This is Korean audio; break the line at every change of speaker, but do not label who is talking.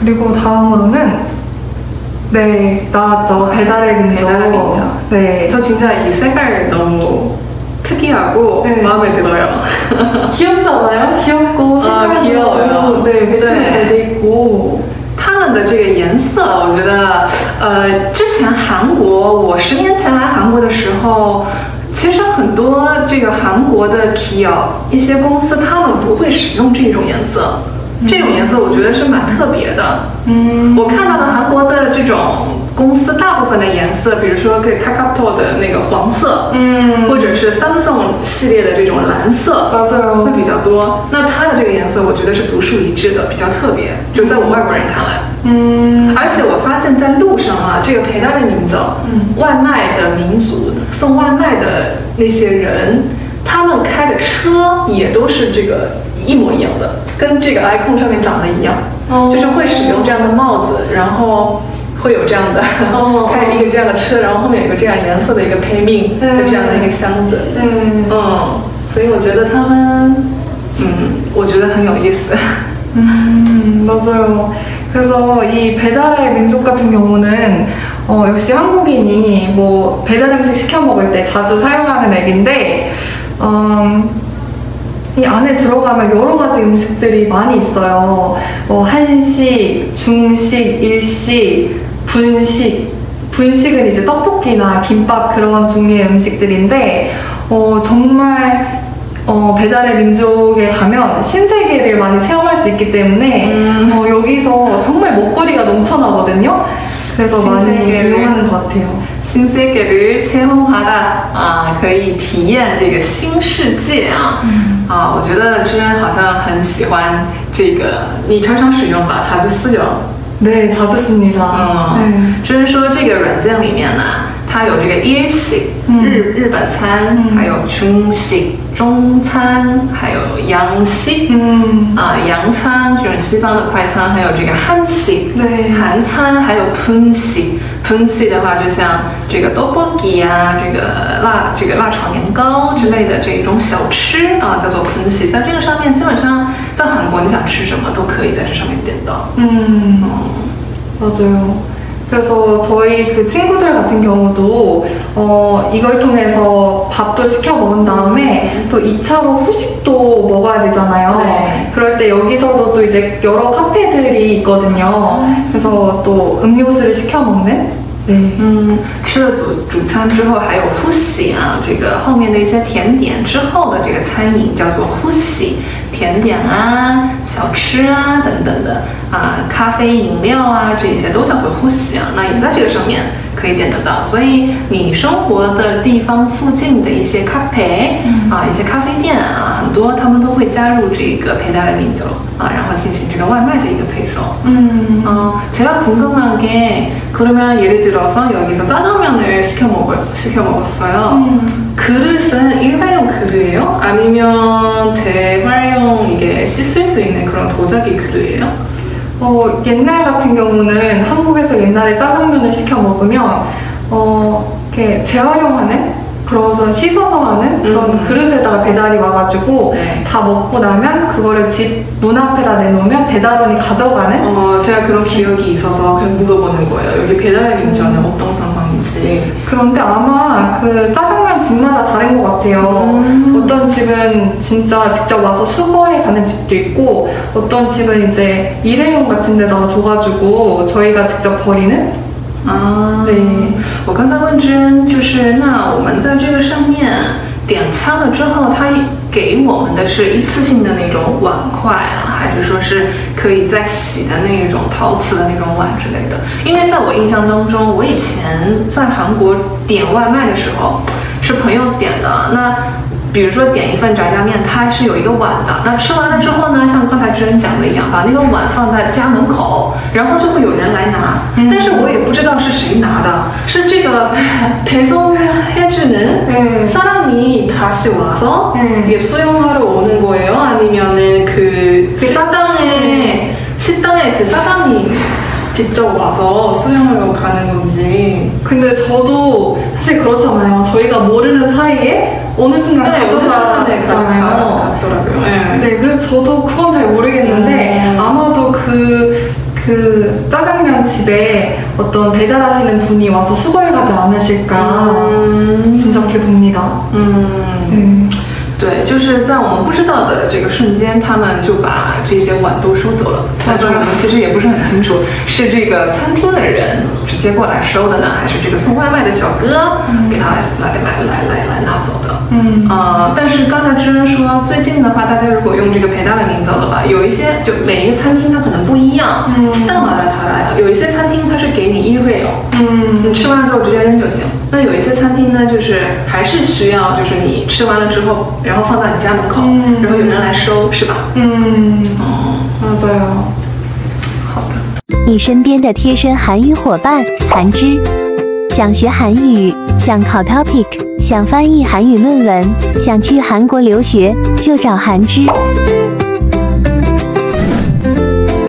그리고 다음으로는 네, 나왔죠. 배달의 민족.
배달의 민족.
네.
저 진짜 이 색깔 너무 특이하고
네.
마음에 들어요.
귀엽지 않아요? 귀엽고 색깔도
귀여워요.
네, 배치가
네.
잘 돼 있고.
他们的这个颜色，我觉得，之前韩国，我10年前来韩国的时候，其实很多这个韩国的 Kia 一些公司，他们不会使用这种颜色。这种颜色我觉得是蛮特别的。我看到的韩国的这种公司大部分的颜色，比如说给 Kakao 的那个黄色，或者是 Samsung 系列的这种蓝色，
맞아요.
会比较多。那它的这个颜色，我觉得是独树一帜的，比较特别。就在我外国人看来，而且我发现在路上啊，这个陪单的民族，外卖的民族，送外卖的那些人，他们开的车也都是这个一模一样的，跟这个 icon 上面长得一样，就是会使用这样的帽子，然后会有这样的开一个这样的车，然后后面有个这样颜色的一个配命，就这样的一个箱子，所以我觉得他们，我觉得很有意思。
맞아요. 그래서 이 배달의 민족 같은 경우는 역시 한국인이 뭐 배달 음식 시켜 먹을 때 자주 사용하는 앱인데 이 안에 들어가면 여러 가지 음식들이 많이 있어요. 한식, 중식, 일식, 분식. 분식은 이제 떡볶이나 김밥 그런 종류의 음식들인데 정말 배달의 민족에 가면 신세계를 많이 체험할 수 있기 때문에 여기서 정말 먹거리가 넘쳐나거든요. 그래서 많이 이용하는 것 같아요.
新世界를 체험하다啊，可以体验这个新世界啊。我觉得知恩好像很喜欢这个，你常常使用吧？자주 쓰죠。
네, 자주 씁니다.
知恩说这个软件里面呢，它有这个일식日本餐，还有중식中餐，还有양식洋餐，就是西方的快餐，还有这个한식韩餐，还有분식的话，就像这个떡볶이啊，这个辣炒年糕之类的这种小吃啊，叫做분식。在这个上面，基本上在韩国你想吃什么都可以在这上面点到。
맞아요. 그래서 저희 그 친구들 같은 경우도 이걸 통해서 밥도 시켜 먹은 다음에 또 2차로 후식도 먹어야 되잖아요.
네.
그럴 때 여기서도 또 이제 여러 카페들이 있거든요. 그래서 또 음료수를 시켜 먹는. 네.
吃了主餐之后还有复习啊，这个后面的一些甜点之后的这个餐饮叫做复习，甜点啊、小吃啊等等的啊，咖啡、饮料啊这些都叫做复习啊，那也在这个上面可以点得到。所以你生活的地方附近的一些咖啡啊、一些咖啡店啊，很多他们都会加入这个배달의 민족啊，然后进行这个外卖的一个配送。 제가 궁금한 게 그러면 예를 들어서 여기서 짜장면을 시켜 먹었어요. 그릇은 일회용 그릇이에요? 아니면 재활용 이게 씻을 수 있는 그런 도자기 그릇이에요?
옛날 같은 경우는 한국에서 옛날에 짜장면을 시켜 먹으면 이렇게 재활용하는 그래서 씻어서 하는 그런 그릇에다가 배달이 와가지고 다 먹고 나면 그거를 집 문 앞에다 내놓으면 배달원이 가져가는
제가 그런 기억이 있어서 그냥 물어보는 거예요. 여기 배달의 민족은 어떤 상황인지.
그런데 아마 그 짜장면 집마다 다른 것 같아요. 어떤 집은 진짜 직접 와서 수거해 가는 집도 있고 어떤 집은 이제 일회용 같은 데다가 줘가지고 저희가 직접 버리는 对，
我刚才问知恩，就是那我们在这个上面点餐了之后，他给我们的是一次性的那种碗筷啊，还是说是可以再洗的那种陶瓷的那种碗之类的？因为在我印象当中，我以前在韩国点外卖的时候，是朋友点的，那比如说点一份炸酱面，它是有一个碗的。那吃完了之后呢，像刚才知恩讲的一样，把那个碗放在家门口，然后就会有人来拿。但是我也不知道是谁拿的，是这个배송해주는 사람이 다시 와서 수용하러 오는 거예요? 아니면은 그 식당에 그 사장이 직접 와서 수영하러 가는 건지.
근데 저도 사실 그렇잖아요. 저희가 모르는 사이에 어느 순간 가져가잖아요.
같더라고요.
네, 그래서 저도 그건 잘 모르겠는데 아마도 그 집에 어떤 배달하시는 분이 와서 수거해가지 않으실까 짐작해 봅니다.
对，就是在我们不知道的这个瞬间，他们就把这些碗都收走了。但是我们其实也不是很清楚，是这个餐厅的人直接过来收的呢，还是这个送外卖的小哥给他来拿走的。但是刚才知恩说，最近的话，大家如果用这个陪大的名走的话，有一些就每一个餐厅它可能不一样。但完了它来了，有一些餐厅它是给你1real，你吃完之后直接扔就行。那有一些餐厅呢，就是还是需要，就是你吃完了之后，然后放到你家门口，然后有人来收，是吧？
맞아요。
好的。
你身边的贴身韩语伙伴韩之，想学韩语，想考 TOPIK， 想翻译韩语论文，想去韩国留学，就找韩之。